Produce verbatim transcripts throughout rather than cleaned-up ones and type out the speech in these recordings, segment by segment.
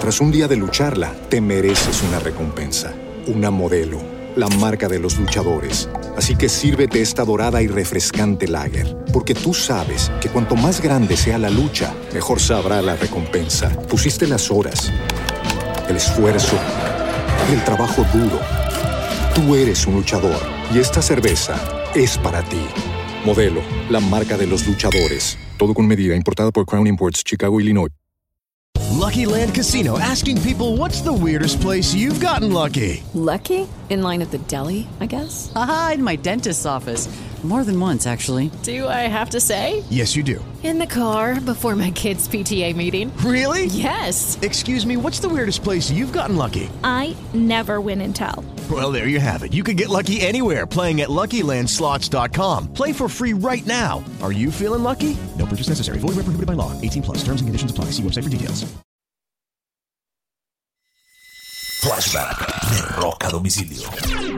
Tras un día de lucharla, te mereces una recompensa, una Modelo, la marca de los luchadores. Así que sírvete esta dorada y refrescante lager, porque tú sabes que cuanto más grande sea la lucha, mejor sabrá la recompensa. Pusiste las horas, el esfuerzo, el trabajo duro. Tú eres un luchador y esta cerveza es para ti. Modelo, la marca de los luchadores. Todo con medida, importada por Crown Imports, Chicago, Illinois. Lucky Land Casino, asking people, what's the weirdest place you've gotten lucky? Lucky? In line at the deli, I guess? Aha, in my dentist's office. More than once, actually. Do I have to say? Yes, you do. In the car, before my kids' P T A meeting. Really? Yes. Excuse me, what's the weirdest place you've gotten lucky? I never win and tell. Well, there you have it. You can get lucky anywhere, playing at Lucky Land Slots dot com. Play for free right now. Are you feeling lucky? No purchase necessary. Void where prohibited by law. eighteen plus. Terms and conditions apply. See website for details. Flashback de Rock a Domicilio.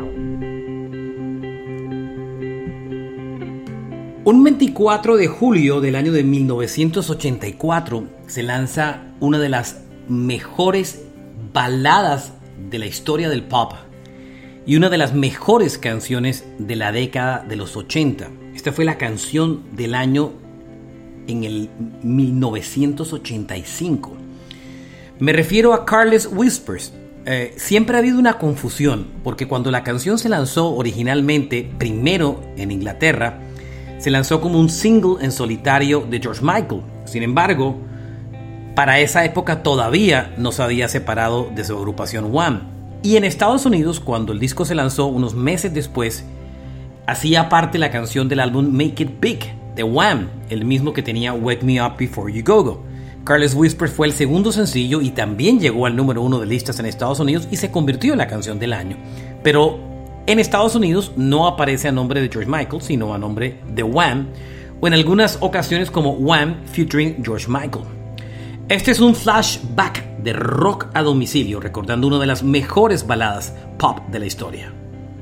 Un veinticuatro de julio del año de mil novecientos ochenta y cuatro se lanza una de las mejores baladas de la historia del pop y una de las mejores canciones de la década de los ochenta. Esta fue la canción del año en el mil novecientos ochenta y cinco. Me refiero a Careless Whispers. Eh, siempre ha habido una confusión porque cuando la canción se lanzó originalmente, primero en Inglaterra, se lanzó como un single en solitario de George Michael. Sin embargo, para esa época todavía no se había separado de su agrupación Wham. Y en Estados Unidos, cuando el disco se lanzó unos meses después, hacía parte la canción del álbum Make It Big de Wham, el mismo que tenía Wake Me Up Before You Go Go. Careless Whisper fue el segundo sencillo y también llegó al número uno de listas en Estados Unidos y se convirtió en la canción del año. Pero en Estados Unidos no aparece a nombre de George Michael, sino a nombre de Wham, o en algunas ocasiones como Wham featuring George Michael. Este es un flashback de Rock a Domicilio, recordando una de las mejores baladas pop de la historia.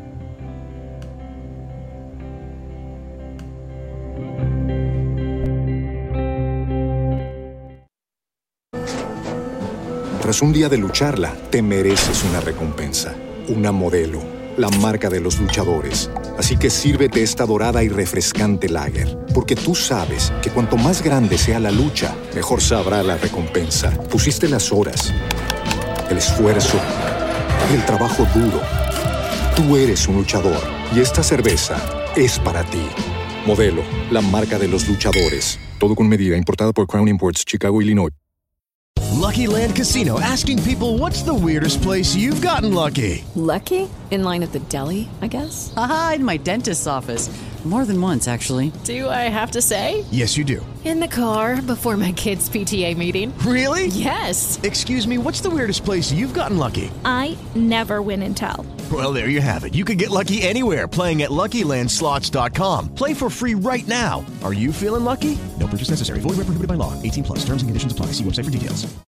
Tras un día de lucharla, te mereces una recompensa, una Modelo, la marca de los luchadores. Así que sírvete esta dorada y refrescante lager, porque tú sabes que cuanto más grande sea la lucha, mejor sabrá la recompensa. Pusiste las horas, el esfuerzo, el trabajo duro. Tú eres un luchador y esta cerveza es para ti. Modelo, la marca de los luchadores. Todo con medida, importada por Crown Imports, Chicago, Illinois. Lucky Land Casino, asking people, what's the weirdest place you've gotten lucky? Lucky? In line at the deli, I guess? Aha, in my dentist's office. More than once, actually. Do I have to say? Yes, you do. In the car, before my kids' P T A meeting. Really? Yes. Excuse me, what's the weirdest place you've gotten lucky? I never win and tell. Well, there you have it. You can get lucky anywhere, playing at Lucky Land Slots dot com. Play for free right now. Are you feeling lucky? No purchase necessary. Void where prohibited by law. eighteen plus. Terms and conditions apply. See website for details.